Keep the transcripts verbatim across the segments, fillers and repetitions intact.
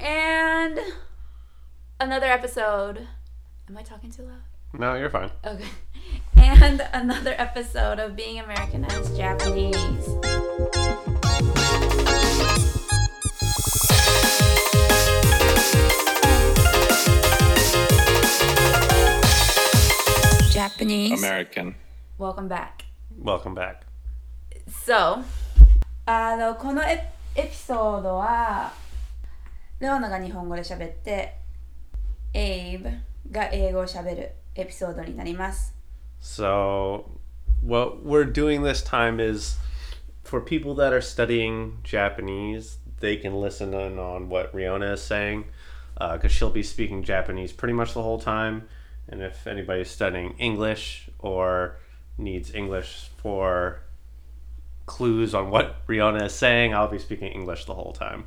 And another episode. Am I talking too loud? No, you're fine. Okay. And another episode of Being Americanized Japanese. Japanese. American. Welcome back. Welcome back. So, あのこのエピソードはレオナが日本語で喋ってエイブが英語を喋るエピソードになります。 So, what we're doing this time is for people that are studying Japanese, they can listen in on what Riona is saying because uh, she'll be speaking Japanese pretty much the whole time. And if anybody's studying English or needs English for clues on what Riona is saying, I'll be speaking English the whole time.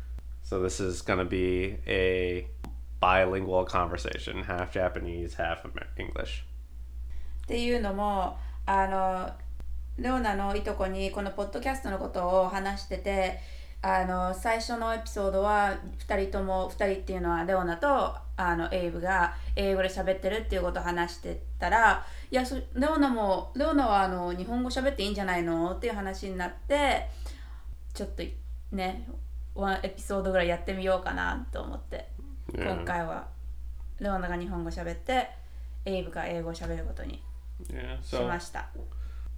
So this is going to be a bilingual conversation, half Japanese, half English. っていうのもあのレオナのいとこにこのポッドキャストのことを話してて、あの最初のエピソードはふたりともふたりっていうのはレオナとあのエイブが英語で喋ってるっていうことを話してたら、いやそレオナもレオナはあの日本語喋っていいんじゃないのっていう話になって、ちょっとねワンエピソードぐらいやってみようかなと思って、yeah. 今回はレオナが日本語喋ってエイブが英語を喋ることにしました。 Yeah, so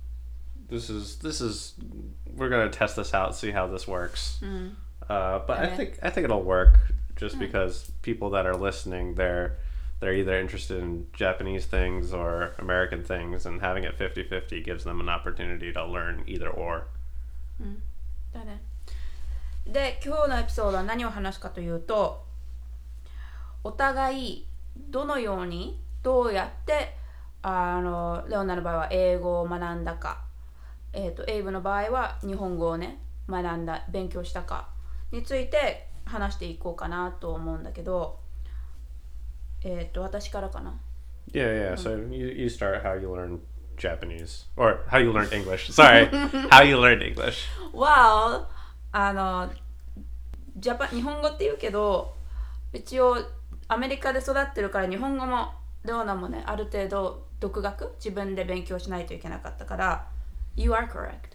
this is this is we're gonna test this out, see how this works. Mm. Uh, but okay. I think I think it'll work just mm. because people that are listening, they're they're either interested in Japanese things or American things, and having it fifty-fifty gives them an opportunity to learn either or. うん、だね。で、今日のエピソードは何を話すかというと、お互いどのようにどうやってあのレオナの場合は英語を学んだか、えーと、エイブの場合は日本語をね学んだ勉強したかについて話していこうかなと思うんだけど、えっと私からかな。 Yeah, yeah. So you you start how you learn Japanese or how you learn English. Sorry, how you learned English. Well, あのジャパ日本語って言うけど、一応アメリカで育ってるから日本語もレオナもねある程度独学自分で勉強しないといけなかったから。You are correct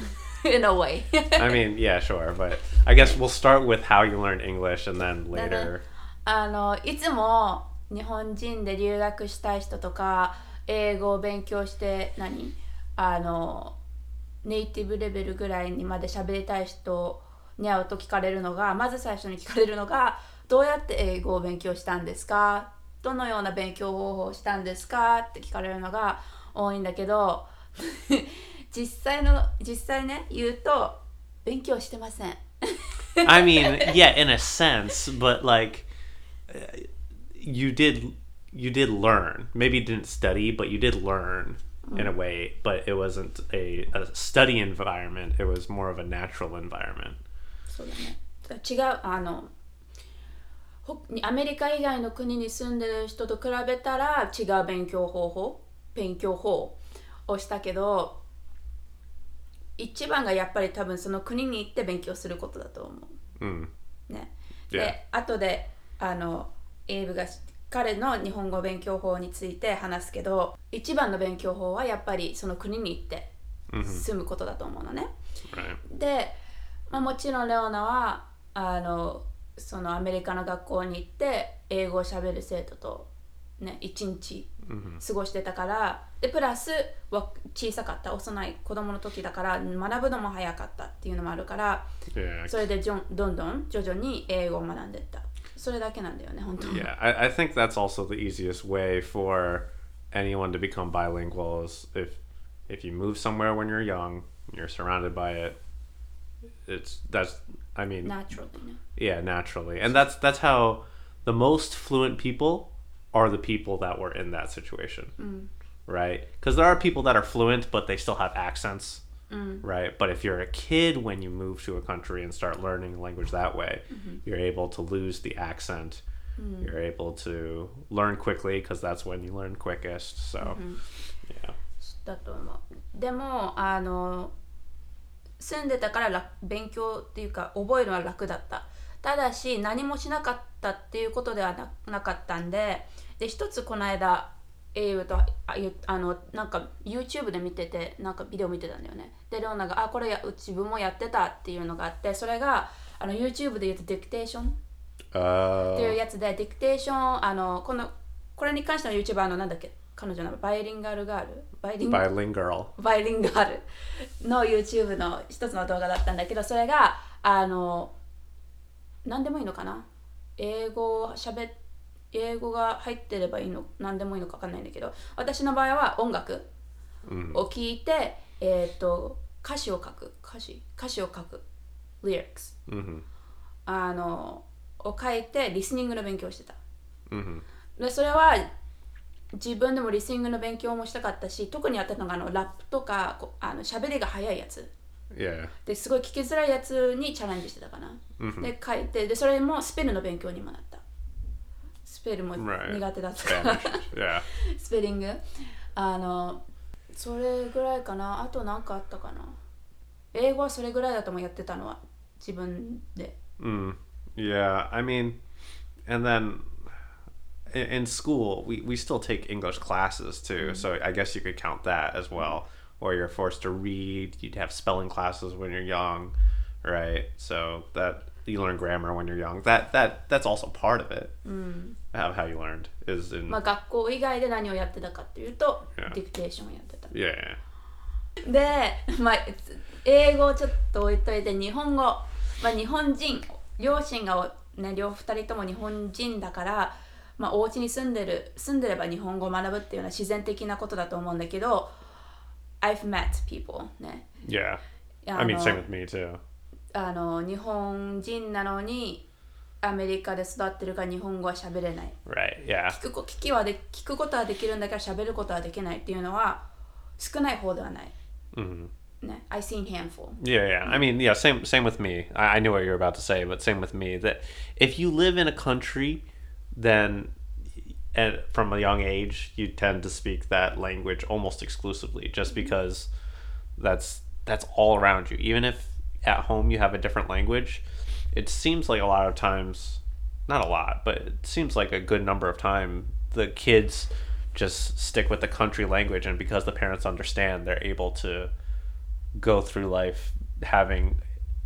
in a way. I mean, yeah, sure, but I guess we'll start with how you learned English and then later. あのいつも日本人で留学したい人とか英語を勉強して何あのネイティブレベルぐらいにまで喋りたい人に会うと聞かれるのが、まず最初に聞かれるのがどうやって英語を勉強したんですか、どのような勉強方法をしたんですかって聞かれるのが多いんだけど実際の実際ね言うと勉強してません。 I mean, yeah, in a sense, but like you did you did learn. Maybe you didn't study, but you did learn in a way, but it wasn't a, a study environment. It was more of a natural environment. そうだね。違うあのアメリカ以外の国に住んでる人と比べたら違う勉強方法、勉強法をしたけど、一番がやっぱり多分その国に行って勉強することだと思う。 うん。 ね。 Yeah. で、後であのエイブが彼の日本語勉強法について話すけど、一番の勉強法はやっぱりその国に行って住むことだと思うのね。 Mm-hmm. で、まあ、もちろんレオナはあのそのアメリカの学校に行って英語を喋る生徒とね一日過ごしてたから、でプラスは小さかった幼い子供の時だから学ぶのも早かったっていうのもあるから、 yeah. それでどんどん徐々に英語を学んでった。それだけなんだよね本当に。 Yeah, I, I think that's also the easiest way for anyone to become bilingual is if if you move somewhere when you're young, you're surrounded by it. It's that's I mean naturally. Yeah, naturally, and that's that's how the most fluent people are the people that were in that situation, mm. right? Because there are people that are fluent but they still have accents, mm. right? But if you're a kid when you move to a country and start learning language that way, mm-hmm. you're able to lose the accent. Mm. You're able to learn quickly because that's when you learn quickest. So, mm-hmm. yeah. だと思う。でもあの住んでたから勉強っていうか覚えるのは楽だった。 ただし何もしなかったっていうことでは な, なかったんで、で一つこの間エイブとああのなんか YouTube で見てて、なんかビデオ見てたんだよね。でレオナがあこれや自分もやってたっていうのがあって、それがあの YouTube で言うとディクテーションっていうやつで、ディクテーションあのこのこれに関しての YouTuber あのなんだっけ、彼女のバイリンガルガールバイリンガルバイリンガルの YouTube の一つの動画だったんだけど、それがあの何でもいいのかな、英語をしゃべ英語が入ってればいいの何でもいいのか分かんないんだけど、私の場合は音楽を聴いて、うん、えっ、ー、と歌詞を書く歌詞歌詞を書く lyrics、うん、あのを書いてリスニングの勉強をしてた、うん、でそれは自分でもリスニングの勉強もしたかったし、特にやったのがあのラップとかあの喋りが早いやつ、 yeah. ですごい聞きづらいやつにチャレンジしてたかな、mm-hmm. で書いて、でそれもスペルの勉強にもなった。スペルも苦手だったから、right. yeah. スペリングあのそれぐらいかな。あと何かあったかな。英語はそれぐらいだともやってたのは自分で、 mm. Yeah, I mean, and then in school we, we still take English classes too, mm-hmm. so I guess you could count that as well, or you're forced to read. You'd have spelling classes when you're young, right? So that you learn grammar when you're young. That that that's also part of it, mm. of how you learned is in. まあ学校以外で何をやってたかっていうと、yeah. ディクテーションをやってた。 Yeah. で、まあ英語をちょっと置いといて日本語、まあ日本人、両親がね両二人とも日本人だから。まあ、お家に住んでる住んでれば日本語を学ぶっていうのは自然的なことだと思うんだけど、 I've met people ね。 Yeah. I mean, same with me too. あの日本人なのにアメリカで育ってるから日本語は喋れない。 Right. Yeah. 聞く聞きはで聞くことはできるんだけど喋ることはできないっていうのは少ない方ではない。 Mm-hmm. ね、I seen handful. Yeah, yeah. I mean, yeah. Same, same with me. I, I knew what you were about to say, but same with me. That if you live in a country, then and from a young age you tend to speak that language almost exclusively, just because that's that's all around you. Even if at home you have a different language, it seems like a lot of times, not a lot, but it seems like a good number of time the kids just stick with the country language, and because the parents understand, they're able to go through life having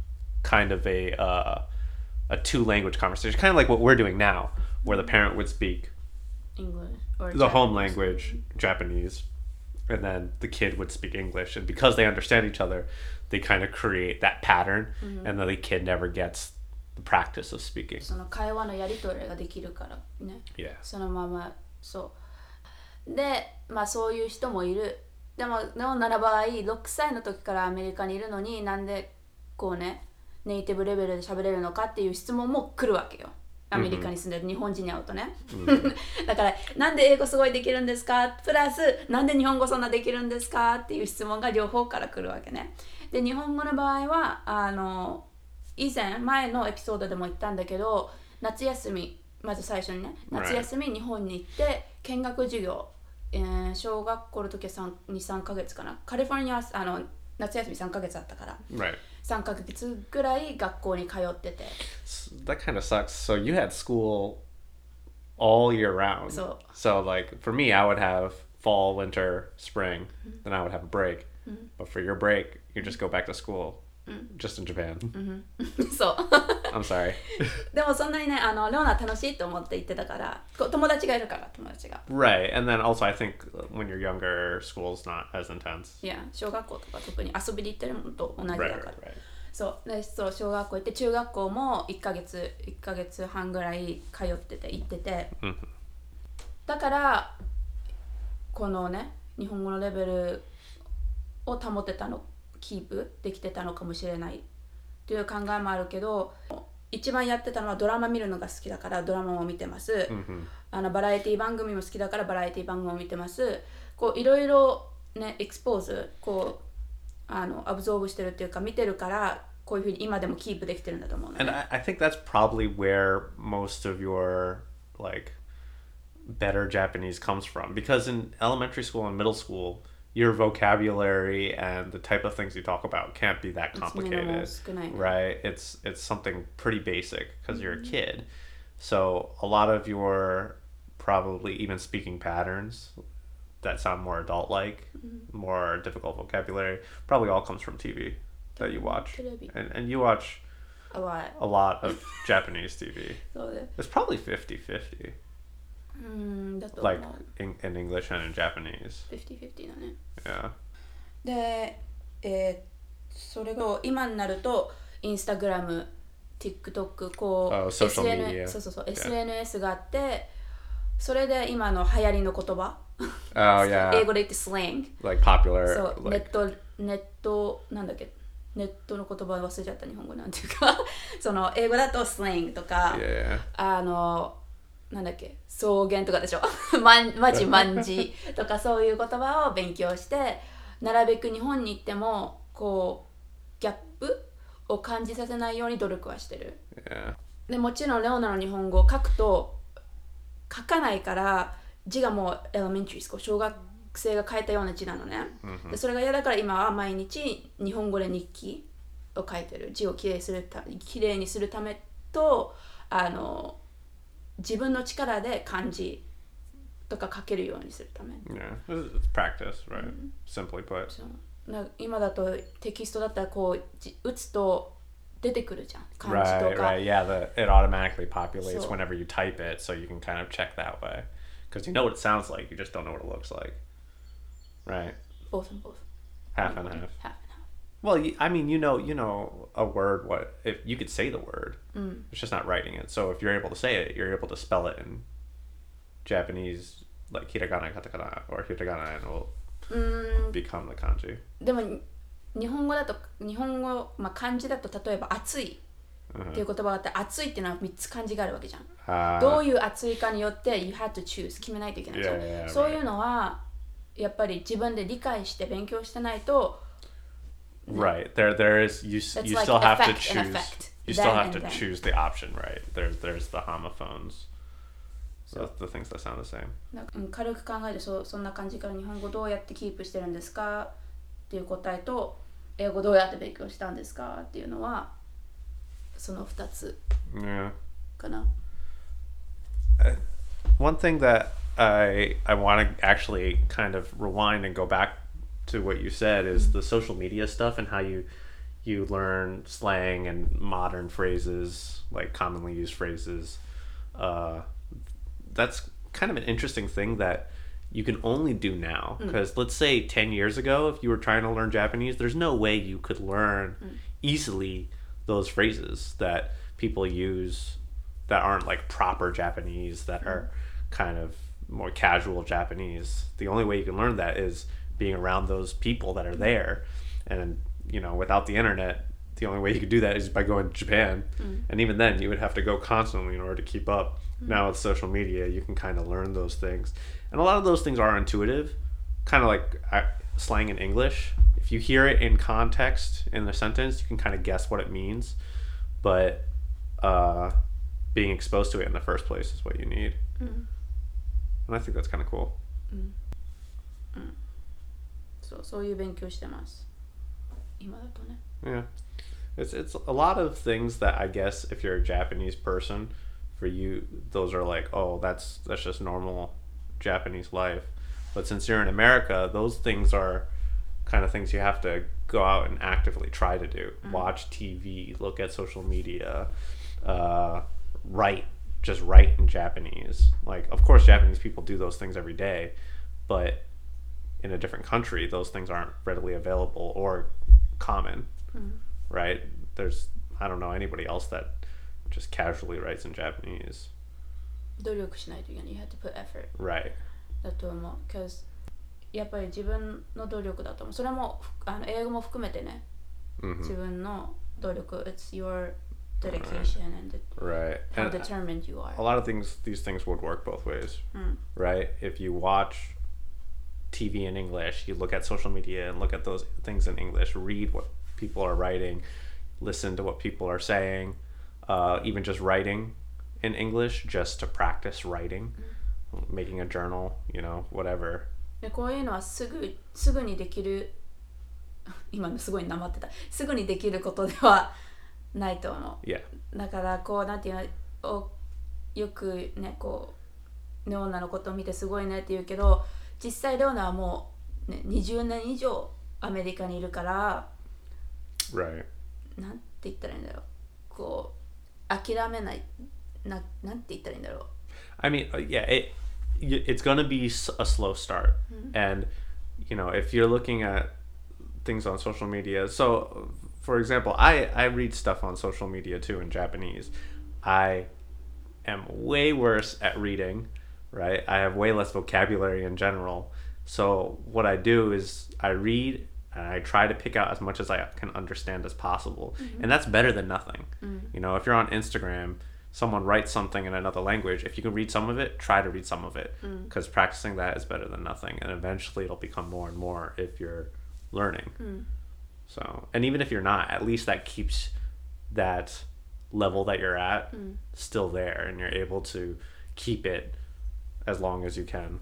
kind of a uh, a two language conversation, kind of like what we're doing now, where the parent would speak English or the Japanese. Home language, Japanese, and then the kid would speak English, and because they understand each other, they kind of create that pattern, mm-hmm. and then the kid never gets the practice of speaking. その会話のやり取りができるからね。 Yeah. そのままそうで、まあそういう人もいる。でものなら場合ろくさいの時からアメリカにいるのになんでこうねネイティブレベルで喋れるのかっていう質問も来るわけよ。アメリカに住んでる日本人に会うとね、mm-hmm. だからなんで英語すごいできるんですかプラスなんで日本語そんなできるんですかっていう質問が両方から来るわけね。で日本語の場合はあの以前前のエピソードでも言ったんだけど、夏休みまず最初にね夏休み日本に行って見学授業、えー、小学校の時はに、さんかげつかな。カリフォルニアはあの夏休みさんかげつあったから、 right. さんかげつぐらい学校に通ってて。 That kind of sucks. So you had school all year round. So, so like for me, I would have fall, winter, spring, mm-hmm. then I would have a break. Mm-hmm. But for your break, you just go back to school. Just in Japan. Mm-hmm. そう。 I'm sorry. でもそんなにね、あのレオナ楽しいと思って言ってたから、友達がいるから友達が。 Right, and then also I think when you're younger, school's not as intense. Yeah, 小学校とか特に遊びに行ってるのと同じだから。 Right, right, right. そうでそう小学校行って中学校もいっかげついっかげつはんぐらい通ってて行ってて、 mm-hmm. だからこのね日本語のレベルを保ってたの。キープできてたのかもしれないっていう考えもあるけど、一番やってたのはドラマ見るのが好きだからドラマも見てます、 mm-hmm. あのバラエティ番組も好きだからバラエティ番組も見てます。こういろいろねエクスポーズこうあのアブゾーブしてるっていうか見てるからこういうふうに今でもキープできてるんだと思うのね。 And I, I think that's probably where most of your like better Japanese comes from, because in elementary school and middle school your vocabulary and the type of things you talk about can't be that complicated, right? It's it's something pretty basic because you're a kid. So a lot of your probably even speaking patterns that sound more adult-like, mm-hmm. more difficult vocabulary, probably all comes from T V that you watch. And and you watch a lot. A lot of Japanese T V. It's probably fifty-fifty. Like in, in English and in Japanese. fifty-fifty だね。 Yeah. で、えー、それが今になるとインスタグラム、TikTok こう、 oh, social media. そうそうそう、yeah.エスエヌエス があって、それで今の流行りの言葉。 Oh yeah. 英語で言って slang. Like popular. そう、 like... ネットネットなんだっけ。ネットの言葉忘れちゃった日本語なんていうかその英語だとスラングとか、 yeah. あのなんだっけ草原とかでしょマンマジマンジとかそういう言葉を勉強してなるべく日本に行ってもこうギャップを感じさせないように努力はしてる、 yeah. でもちろんレオナの日本語を書くと書かないから字がもうエレメンタリースクール小学学生が書いたような字なのね、 mm-hmm. でそれが嫌だから今は毎日日本語で日記を書いてる字をきれいするたきれいにするためとあの自分の力で漢字とか書けるようにするため Yeah, it's practice, right? Mm-hmm. Simply put そう今だとテキストだったらこう打つと出てくるじゃん漢字とか Right, right, yeah, the, it automatically populates whenever you type it so you can kind of check that way because you know what it sounds like, you just don't know what it looks like Right. Both and both. Half and half. Half and half. Well, I mean, you know, you know a word. What if you could say the word? Mm. It's just not writing it. So if you're able to say it, you're able to spell it in Japanese, like hiragana, katakana, or hiragana, and it will mm. become the kanji. でも日本語だと日本語まあ漢字だと例えば暑いっていう言葉があって暑いっていうのはみっつ漢字があるわけじゃん。Uh, どういう暑いかによって you had to choose 決めないといけないじゃん。 Yeah, yeah, そういうのはやっぱり自分で理解して勉強してないと Right. There there is you you like still have to choose you still have to choose the option, right? There's there's the homophones. So the things that sound the same. 軽く考えてそそんな感じから日本語どうやってキープしてるんですかっていう答えと英語どうやって勉強したんですかっていうのはそのふたつかな。 Yeah. One thing that I I want to actually kind of rewind and go back to what you said is mm-hmm. the social media stuff and how you you learn slang and modern phrases, like commonly used phrases. Uh, that's kind of an interesting thing that you can only do now. Because mm. let's say ten years ago, if you were trying to learn Japanese, there's no way you could learn mm. easily those phrases that people use that aren't like proper Japanese, that mm. are kind of more casual Japanese. The only way you can learn that is being around those people that are there. And, you know, without the internet, the only way you could do that is by going to Japan. Mm. And even then, you would have to go constantly in order to keep up. Mm. Now with social media, you can kind of learn those things. And a lot of those things are intuitive, kind of like uh, slang in English. If you hear it in context in the sentence, you can kind of guess what it means. But uh, being exposed to it in the first place is what you need. Mm. And I think that's kind of cool. Mm. Mm. So, そういう勉強してます。今だとね。 Yeah. It's it's a lot of things that I guess if you're a Japanese person, for you, those are like, oh, that's that's just normal Japanese life. But since you're in America, those things are kind of things you have to go out and actively try to do. Mm. Watch T V, look at social media, uh, write, just write in Japanese. Like, of course, Japanese people do those things every day, but in a different country, those things aren't readily available or common, mm. right? There's, I don't know anybody else that just casually writes in Japanese. 努力しないといけない。You have to put effort. Right. だと思う。because やっぱり自分の努力だと思う。それもあの英語も含めてね。Mm-hmm. 自分の努力。It's your dedication right. and right. how and determined you are. A lot of things, these things would work both ways, mm. right? If you watch T V in English, you look at social media and look at those things in English, read what people are writing, listen to what people are saying, uh, even just writing in English just to practice writing, mm. making a journal, you know, whatever. でこういうのはすぐすぐにできる今のすごいなまってたすぐにできることではないと思う。 Yeah. だからこうなんていうのおよくねこうレオナのことを見てすごいねって言うけど実際レオナはもう、ね、にじゅうねん以上アメリカにいるから Right. なんて言ったらいいんだろうこう諦めないななんて言ったらいいんだろう I mean, uh, yeah, it y- it's going to be s- a slow start. And, you know, if you're looking at things on social media, so for example, I, I read stuff on social media too in Japanese. I am way worse at reading, right? I have way less vocabulary in general. So what I do is I read and I try to pick out as much as I can understand as possible. And that's better than nothing. You know, if you're on Instagram, someone writes something in another language, if you can read some of it, try to read some of it, because practicing that is better than nothing, and eventually it'll become more and more if you're learning. So, and even if you're not, at least that keeps that level that you're at still there, and you're able to keep it as long as you can.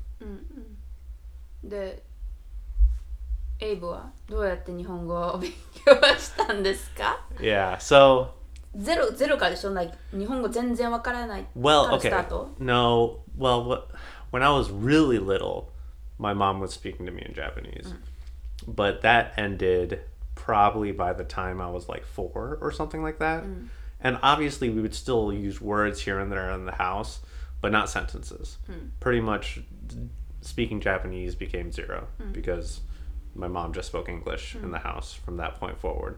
でエイブはどうやって日本語を勉強したんですか Yeah, so ゼロゼロからでしょなんか日本語全然わからない well, からス okay. タート No, well, what, when I was really little, my mom was speaking to me in Japanese. But that ended probably by the time I was like four or something like that. And obviously, we would still use words here and there in the house, but not sentences. Pretty much speaking Japanese became zero because my mom just spoke English in the house from that point forward.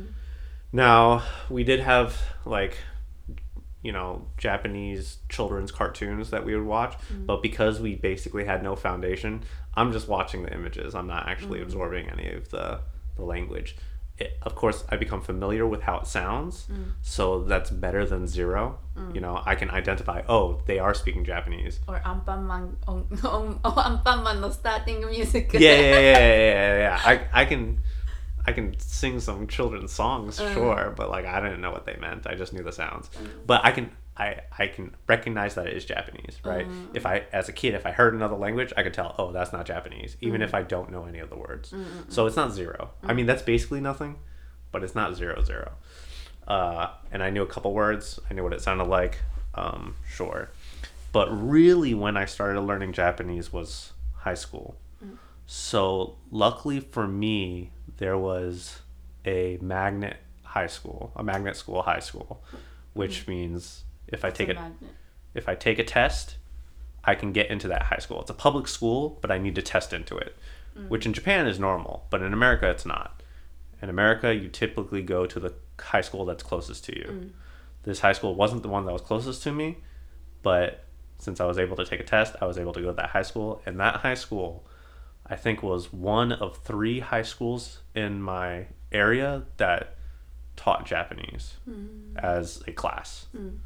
Now, we did have like, you know, Japanese children's cartoons that we would watch, but because we basically had no foundation, I'm just watching the images. I'm not actually absorbing any of the, the language. It, of course, I become familiar with how it sounds, so that's better than zero. You know, I can identify, oh, they are speaking Japanese. or アンパンマンおんおんアンパンマンのスターティングミュージック Yeah, yeah, yeah, yeah, yeah, yeah. I, I can, I can sing some children's songs, sure, but like I didn't know what they meant. I just knew the sounds. But I can, I, I can recognize that it is Japanese, right? If I, as a kid, if I heard another language, I could tell, oh, that's not Japanese, even if I don't know any of the words. So it's not zero. I mean, that's basically nothing, but it's not zero zero. Uh, and I knew a couple words. I knew what it sounded like. Um, sure. But really, when I started learning Japanese was high school. So luckily for me, there was a magnet high school, a magnet school high school, which means if I take a a magnet. if I take a test, I can get into that high school. It's a public school, but I need to test into it, which in Japan is normal, but in America it's not. In America, you typically go to the high school that's closest to you. This high school wasn't the one that was closest to me, but since I was able to take a test, I was able to go to that high school. And that high school, I think, was one of three high schools in my area that taught Japanese as a class.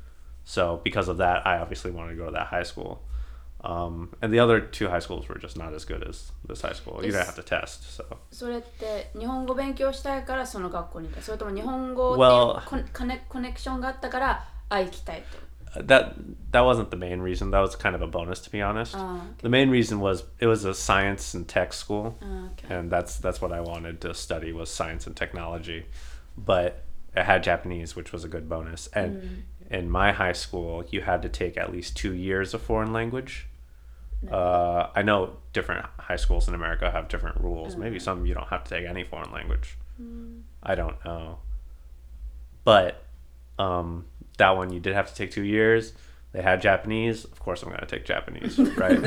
So because of that, I obviously wanted to go to that high school. Um, and the other two high schools were just not as good as this high school. You didn't have to test, so. それって日本語勉強したいからその学校に行ったそれとも日本語っていう Well- コネコネコネクションがあったからあ行きたいと That that wasn't the main reason. That was kind of a bonus, to be honest. Oh, okay. The main reason was it was a science and tech school, Ah, okay. and that's that's what I wanted to study was science and technology. But it had Japanese, which was a good bonus. And in my high school, you had to take at least two years of foreign language. Uh, I know different high schools in America have different rules. Maybe some you don't have to take any foreign language. I don't know. But um, that one you did have to take two years. They had Japanese. Of course, I'm going to take Japanese, right?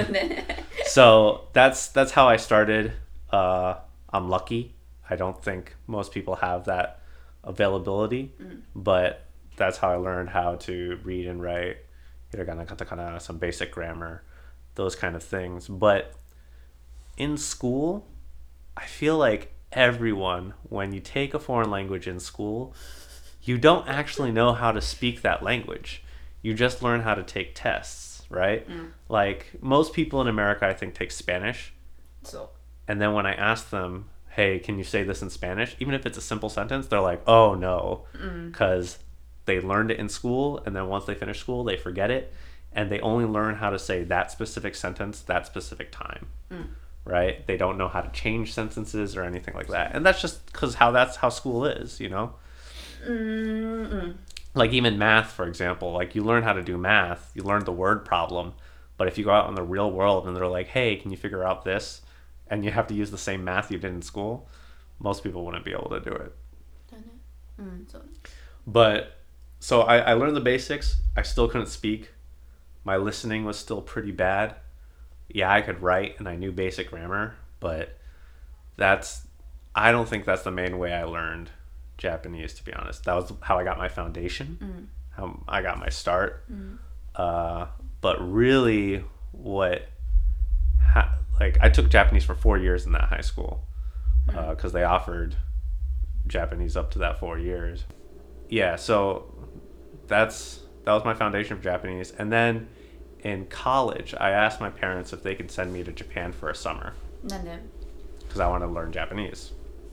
So that's that's how I started. Uh, I'm lucky. I don't think most people have that availability, but that's how I learned how to read and write hiragana, katakana, some basic grammar, those kind of things. But in school, I feel like everyone, when you take a foreign language in school, you don't actually know how to speak that language. You just learn how to take tests, right? Like most people in America, I think, take Spanish. So And then when I ask them, hey, can you say this in Spanish? Even if it's a simple sentence, they're like, oh, no. Because they learned it in school, and then once they finish school, they forget it. And they only learn how to say that specific sentence, that specific time. right? They don't know how to change sentences or anything like that. And that's just because how that's how school is, you know? Mm-mm. Like even math, for example, like you learn how to do math, you learn the word problem. But if you go out in the real world and they're like, hey, can you figure out this? And you have to use the same math you did in school, most people wouldn't be able to do it. だね。うん、そう。 But so I, I learned the basics. I still couldn't speak. My listening was still pretty bad. Yeah, I could write and I knew basic grammar, but that's I don't think that's the main way I learned Japanese, to be honest. That was how I got my foundation, Mm. how I got my start. Mm. Uh, but really, what ha- like I took Japanese for four years in that high school because uh, they offered Japanese up to that four years. Yeah, so that's that was my foundation for Japanese. And then in college, I asked my parents if they could send me to Japan for a summer なんで because I wanted to learn Japanese.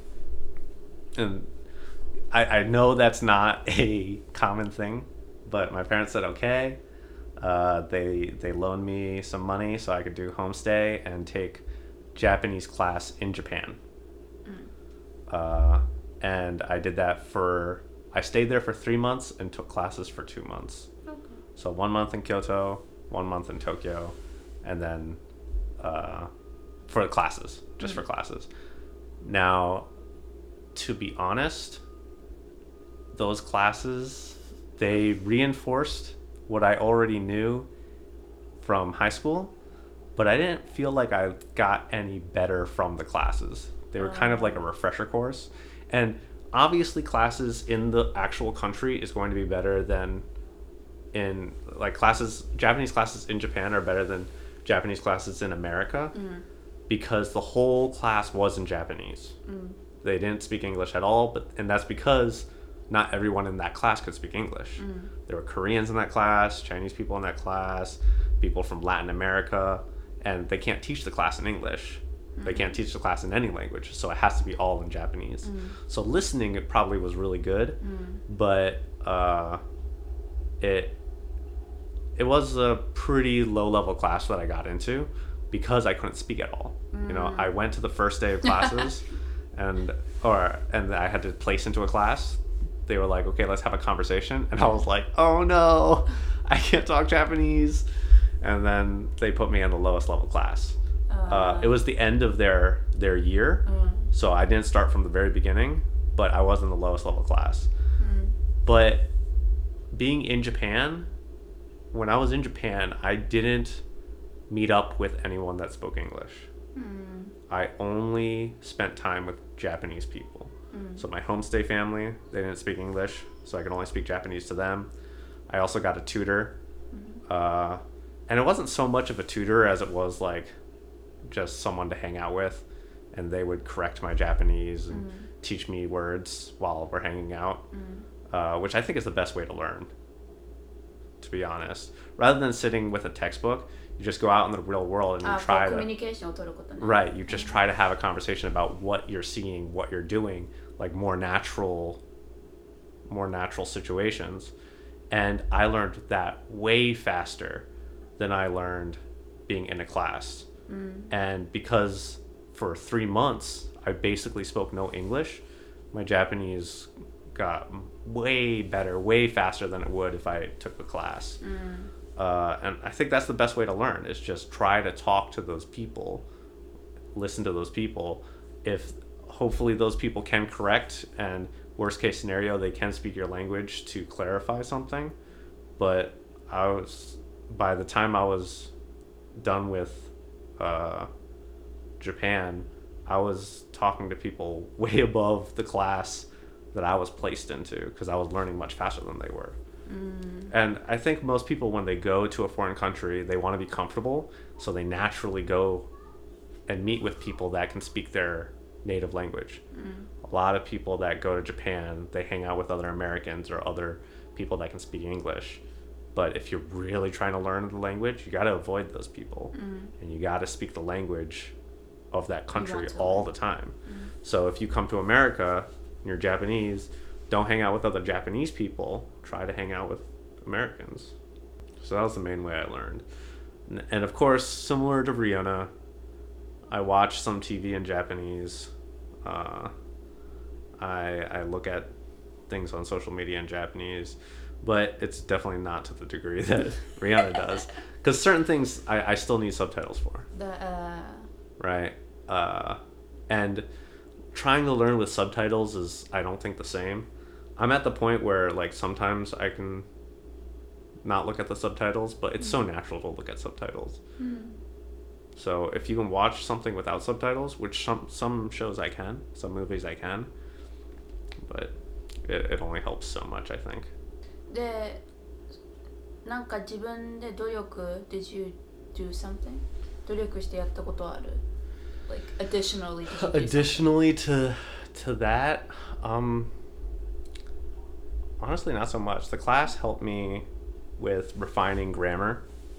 And I, I know that's not a common thing, but my parents said okay. Uh, they they loaned me some money so I could do homestay and take Japanese class in Japan. Mm. Uh, and I did that for I stayed there for three months and took classes for two months. Okay. So one month in Kyoto, one month in Tokyo, and then uh, for the classes, just Mm. for classes. Now, to be honest, those classes, they reinforced what I already knew from high school, but I didn't feel like I got any better from the classes. They were kind of like a refresher course. And obviously classes in the actual country is going to be better than in like classes Japanese classes in Japan are better than Japanese classes in America Mm. because the whole class was in Japanese. Mm. They didn't speak English at all, but and that's because not everyone in that class could speak English. Mm. There were Koreans in that class, Chinese people in that class, people from Latin America, and they can't teach the class in English. They can't teach the class in any language, so it has to be all in Japanese. Mm. So listening, it probably was really good, Mm. but uh, it it was a pretty low level class that I got into because I couldn't speak at all. You know, Mm. I went to the first day of classes, and or and I had to place into a class. They were like, "Okay, let's have a conversation," and I was like, "Oh no, I can't talk Japanese." And then they put me in the lowest level class. Uh, it was the end of their their year, Mm. so I didn't start from the very beginning, but I was in the lowest level class. Mm. But being in Japan, when I was in Japan, I didn't meet up with anyone that spoke English. Mm. I only spent time with Japanese people. Mm. So my homestay family, they didn't speak English, so I could only speak Japanese to them. I also got a tutor. Uh, and it wasn't so much of a tutor as it was like just someone to hang out with, and they would correct my Japanese and Mm. teach me words while we're hanging out, Mm. uh, which I think is the best way to learn, to be honest. Rather than sitting with a textbook, you just go out in the real world and you あ、こう try コミュ to ニケーションを取ることね。 right you just try to have a conversation about what you're seeing, what you're doing, like more natural more natural situations. And I learned that way faster than I learned being in a class. Mm. And because for three months I basically spoke no English, my Japanese got way better, way faster than it would if I took the class. Mm. Uh, and I think that's the best way to learn is just try to talk to those people, listen to those people. If hopefully those people can correct, and worst case scenario, they can speak your language to clarify something. But I was, by the time I was done with uh, Japan, I was talking to people way above the class that I was placed into because I was learning much faster than they were. Mm. And I think most people, when they go to a foreign country, they want to be comfortable, so they naturally go and meet with people that can speak their native language. Mm. A lot of people that go to Japan, they hang out with other Americans or other people that can speak English. But if you're really trying to learn the language, you got to avoid those people. Mm. And you got to speak the language of that country want to all learn. the time. Mm. So if you come to America and you're Japanese, don't hang out with other Japanese people. Try to hang out with Americans. So that was the main way I learned. N- And of course, similar to Rihanna, I watch some T V in Japanese. Uh, I I look at things on social media in Japanese, but it's definitely not to the degree that Rihanna does. Because certain things I, I still need subtitles for. The, uh... Right? Uh, and trying to learn with subtitles is, I don't think, the same. I'm at the point where, like, sometimes I can not look at the subtitles, but it's mm. so natural to look at subtitles. Mm. So if you can watch something without subtitles, which some some shows I can, some movies I can, but it, it only helps so much, I think. で、なんか自分で努力 Did you do something? 努力してやったことある? Like additionally did you do Additionally to to that, um honestly not so much. The class helped me with refining grammar,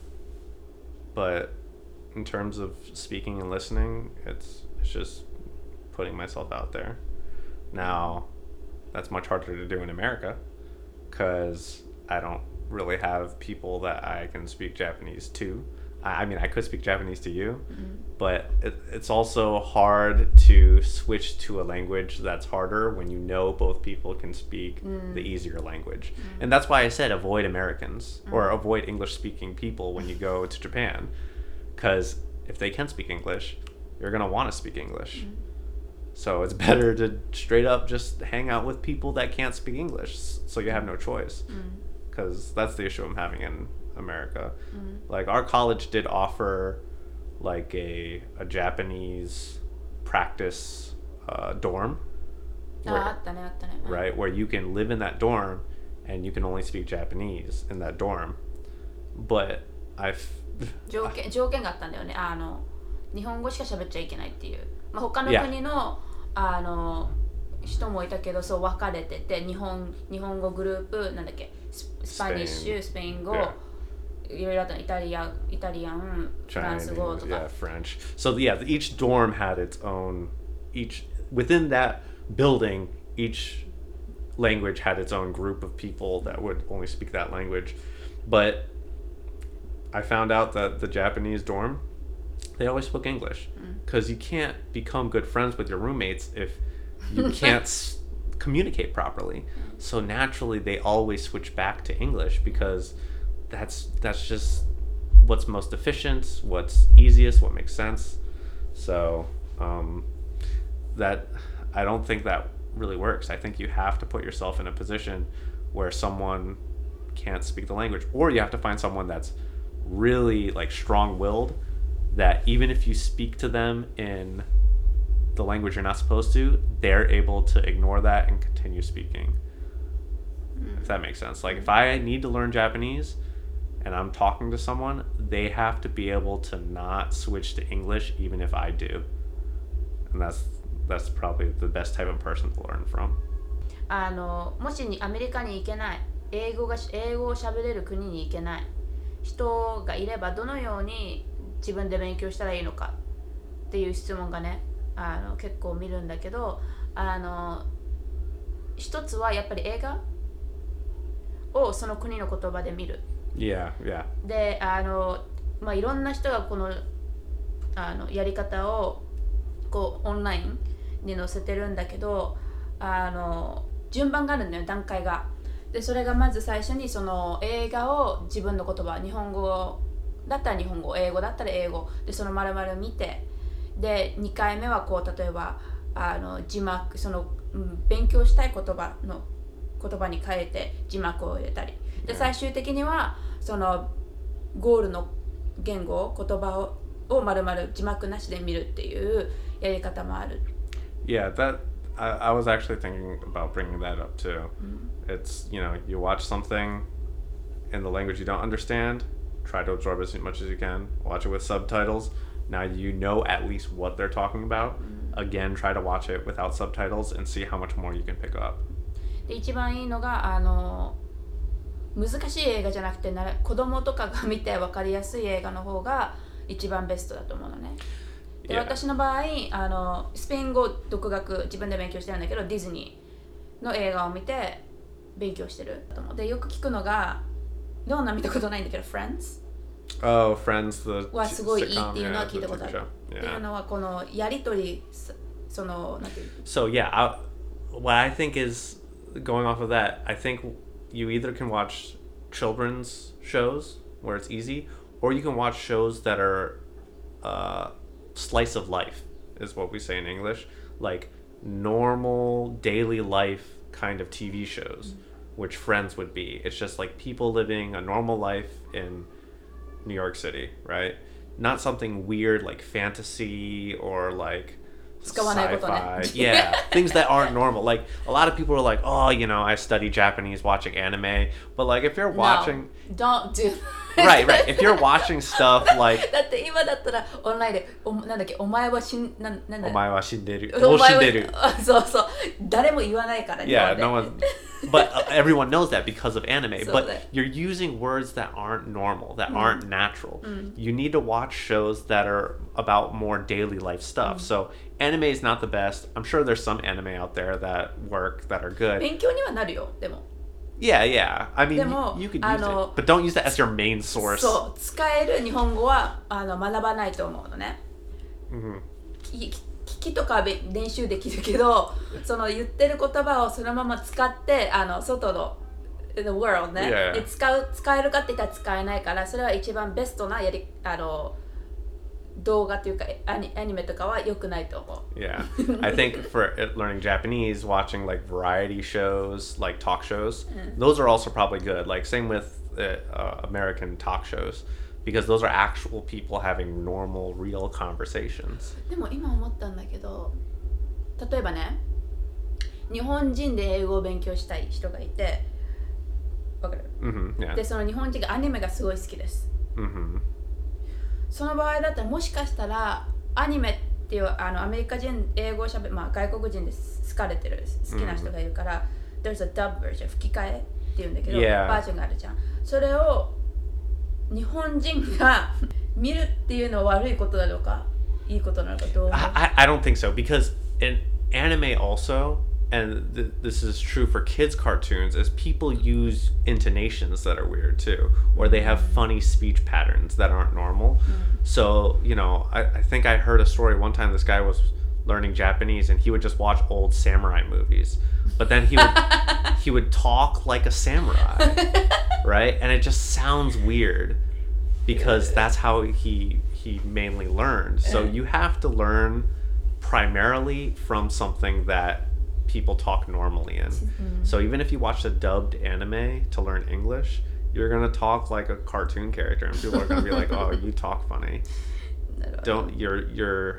but in terms of speaking and listening, it's it's just putting myself out there. Now, that's much harder to do in America because I don't really have people that I can speak Japanese to. I, I mean, I could speak Japanese to you, mm-hmm. but it, it's also hard to switch to a language that's harder when you know both people can speak mm. the easier language. Mm. And that's why I said avoid Americans mm. or avoid English-speaking people when you go to Japan. Because if they can speak English, you're going to want to speak English. Mm. So it's better to straight up just hang out with people that can't speak English so you have no choice. Because mm. that's the issue I'm having in America. Mm. Like our college did offer like a, a Japanese practice uh, dorm. Where, right, where you can live in that dorm and you can only speak Japanese in that dorm. But I've 条件、条件があったんだよね。あの日本語しか喋っちゃいけないっていう。まあ、他の国の、yeah. あの人もいたけど、そう分かれてて、日本日本語グループなんだっけ、ス, スパニッシュ、スペイン語、yeah. いろいろあったの。イタリア、イタリアン、フランス語とか。 Yeah, French. So yeah, each dorm had its own. Each within that building, each language had its own group of people that would only speak that language, but I found out that the Japanese dorm, they always spoke English because mm. you can't become good friends with your roommates if you can't s- communicate properly. So naturally, they always switch back to English because that's that's just what's most efficient, what's easiest, what makes sense. So um, that I don't think that really works. I think you have to put yourself in a position where someone can't speak the language, or you have to find someone that's really like strong-willed that even if you speak to them in the language you're not supposed to, they're able to ignore that and continue speaking. Mm. If that makes sense. Like if I need to learn Japanese and I'm talking to someone, they have to be able to not switch to English even if I do. And that's that's probably the best type of person to learn from. あのもしにアメリカに行けない、英語が英語を喋れる国に行けない人がいればどのように自分で勉強したらいいのかっていう質問がね、あの結構見るんだけど、あの一つはやっぱり映画をその国の言葉で見る。 Yeah, yeah. で、あのまあいろんな人がこのあのやり方をこうオンラインに載せてるんだけど、あの順番があるんだよ、段階が。でそれがまず最初にその映画を自分の言葉、日本語だったら日本語、英語だったら英語でその丸々見て、でにかいめはこう例えばあの字幕、その勉強したい言葉の言葉に変えて字幕を入れたり、で最終的にはそのゴールの言語、言葉をを丸々字幕なしで見るっていうやり方もある。 Yeah, that I, I was actually thinking about bringing that up too. Mm-hmm. It's, you know, you watch something in the language you don't understand, try to absorb as much as you can, watch it with subtitles. Now you know at least what they're talking about. Mm-hmm. Again, try to watch it without subtitles and see how much more you can pick up. で一番いいのがあの難しい映画じゃなくてなら子供とかが見て分かりやすい映画の方が一番ベストだと思うのね。で、yeah. 私の場合あのスペイン語独学自分で勉強してるんだけど、ディズニーの映画を見て勉強してる。でよく聞くのが、どんな見たことないんだけど Friends Oh, Friends, the はすごいいい sitcom, っていうのは yeah, 聞い the たことあ T V る。 show. っていう Yeah. のはこのやりとりそのなんていう So yeah, I, what I think is going off of that, I think you either can watch children's shows where it's easy, or you can watch shows that are uh, slice of life, is what we say in English, like normal daily life kind of T V shows, mm-hmm. which Friends would be. It's just like people living a normal life in New York City, right? Not something weird like fantasy or like sci-fi. Yeah, things that aren't normal. Like a lot of people are like, oh, you know, I study Japanese watching anime, but like if you're watching, no, don't do right, right. If you're watching stuff like だって今だったらオンラインでおなんだっけお前は死んなんなんだお前は死んでる。 お前は死んでる。 そうそう誰も言わないから Yeah, no one. But uh, everyone knows that because of anime. So but that- you're using words that aren't normal, that Mm. aren't natural. Mm. You need to watch shows that are about more daily life stuff. Mm. So anime is not the best. I'm sure there's some anime out there that work that are good. 勉強にはなるよでも Yeah, yeah. I mean, でも you, you could あ use の it, but don't use that as your main source. そう使える日本語はあの学ばないと思うのね Mhm. き聞きとかはべ練習できるけどその言ってる言葉をそのまま使ってあの外の the world ね、 Yeah. で使う使えるかって言ったら使えないからそれは一番ベストなやりあの動画というかアニ、アニメとかは良くないと思う Yeah. I think for it- learning Japanese, watching like variety shows, like talk shows, Mm. those are also probably good. Like same with uh, uh, American talk shows, because those are actual people having normal, real conversations. でも今思ったんだけど例えばね日本人で英語を勉強したい人がいてわかる Mm-hmm. Yeah. でその日本人がアニメがすごい好きです Mm-hmm. その場合だったらもしかしたらアニメっていうあのアメリカ人英語をしゃべまあ外国人で好かれてる好きな人がいるから、mm. There's a dub version 吹き替えっていうんだけど、 yeah. バージョンがあるじゃんそれを日本人が見るっていうのは悪いことなのかいいことなのかどう思う I, I don't think so, because in anime also, and th- this is true for kids cartoons, is people use intonations that are weird too, or they have funny speech patterns that aren't normal. Mm. So, you know, I, I think I heard a story one time. This guy was learning Japanese and he would just watch old samurai movies, but then he would he would talk like a samurai, right? And it just sounds weird because that's how he he mainly learned. So you have to learn primarily from something that people talk normally in. Mm. So even if you watch a dubbed anime to learn English, you're gonna talk like a cartoon character, and people are gonna be like, "Oh, you talk funny." Don't your your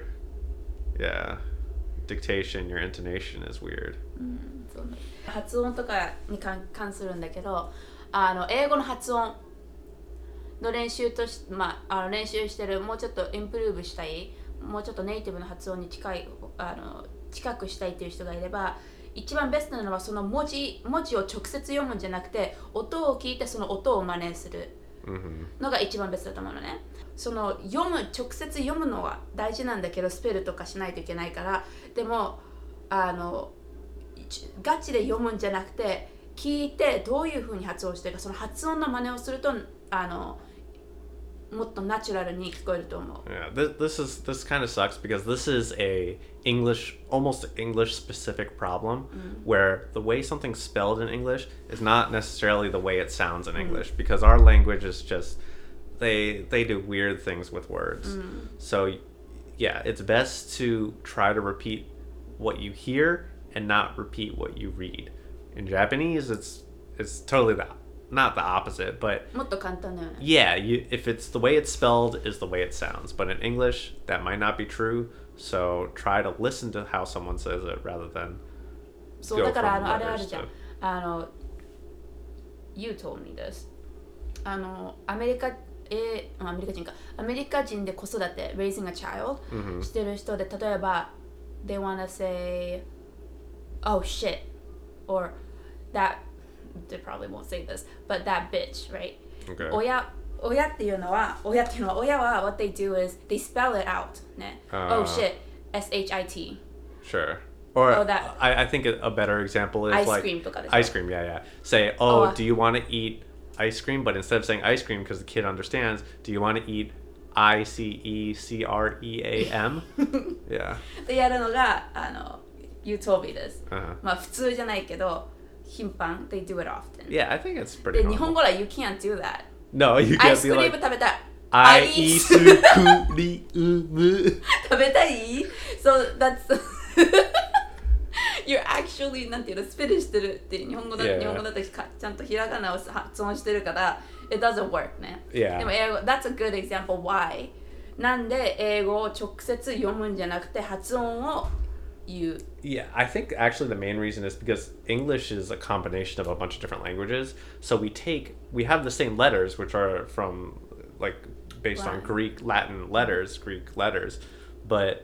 yeah dictation, your intonation is weird. うんそうね発音とかに関関するんだけど、あの英語の発音の練習とし、まあ、あの練習してるもうちょっとインプルーブしたい、もうちょっとネイティブの発音に近いあの近くしたいっていう人がいれば、一番ベストなのはその文字文字を直接読むんじゃなくて、音を聞いてその音を真似するのが一番ベストだと思うのね。その読む直接読むのは大事なんだけど、スペルとかしないといけないから、でもあのガチで読むんじゃなくて聞いてどういう風に発音してるか、その発音の真似をするとあのもっとナチュラルに聞こえると思う。 Yeah, this this is this kind of sucks because this is a English, almost English specific problem, Mm. where the way something's spelled in English is not necessarily the way it sounds in English, because our language is just they they do weird things with words. Mm. So yeah, it's best to try to repeat what you hear and not repeat what you read. In Japanese, it's it's totally the not the opposite, but もっと簡単だよね。 yeah, you, if it's the way it's spelled is the way it sounds. But in English, that might not be true. So try to listen to how someone says it rather than そう go だからあ from のあれある letters じゃん to-。 あの You told me this。あのアメリカえアメリカ人かアメリカ人で子育て raising a child、 Mhm. してる人で例えば they wanna say oh shit or that they probably won't say this but that bitch right Okay. 親親っていうのは親っていうのは親は what they do is they spell it out ね、 Uh. oh shit S H I T Sure. Or Oh, that- I, I think a a better example is ice like cream とかでしょ ice cream. Yeah, yeah. Say, oh, Oh. do you want to eat ice cream, but instead of saying ice cream, because the kid understands, do you want to eat I C E C R E A M? Yeah. でやるのがあの You told me this、 uh-huh. まあ普通じゃないけど頻繁 They do it often. Yeah, I think it's pretty で normal. 日本語は You can't do that. No, you アイ can't ス be クリーム like 食べたい。 アイスクリーム食べたい So that's You're actually なんていうのスペルしてるって日本語だ、 yeah. 日本語だとちゃんとひらがなを発音してるから It doesn't work ね、 yeah. でも英語 That's a good example why なんで英語を直接読むんじゃなくて発音を言う Yeah, I think actually the main reason is because English is a combination of a bunch of different languages. So we take, we have the same letters, which are from, like, based Latin. on Greek, Latin letters, Greek letters, but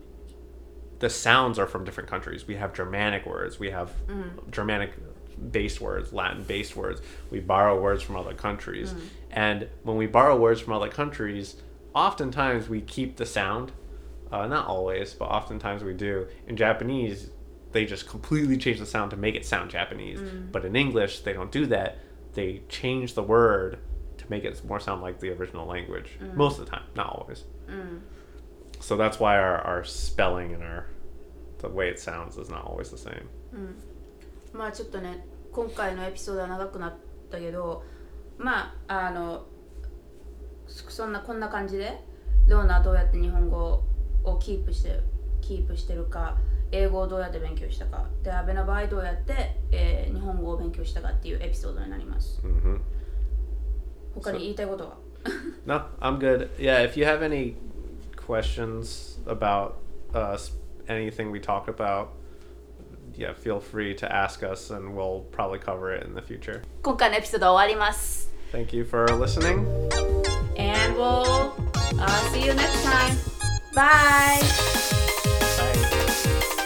the sounds are from different countries. We have Germanic words, we have mm. Germanic based words, Latin based words. We borrow words from other countries. Mm. And when we borrow words from other countries, oftentimes we keep the sound. Uh, not always, but oftentimes we do. In Japanese, they just completely change the sound to make it sound Japanese. Mm. But in English, they don't do that. They change the word to make it more sound like the original language. Mm. Most of the time, not always. Mm. So that's why our, our spelling and our the way it sounds is not always the same. うん、まあちょっとね、今回のエピソードは長くなったけど、まああのそんなこんな感じで、ローナはどうやって日本語をキープしてキープしてるか、英語をどうやって勉強したか、で阿部の場合どうやって、えー、日本語を勉強したかっていうエピソードになります。Mm-hmm. 他に言いたいことは？ No, I'm good. Yeah, if you have any questions about uh, anything we talk about, yeah, feel free to ask us and we'll probably cover it in the future. 今回のエピソードは終わります。 Thank you for listening. And we'll uh, see you next time. Bye. Bye.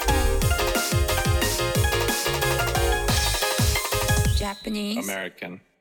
Japanese. American.